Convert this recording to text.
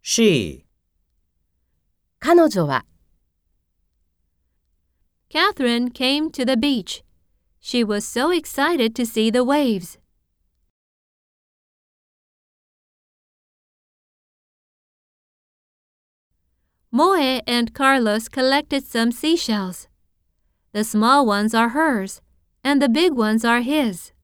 She. 彼女は Catherine came to the beach. She was so excited to see the waves. Moe and Carlos collected some seashells. The small ones are hers, and the big ones are his.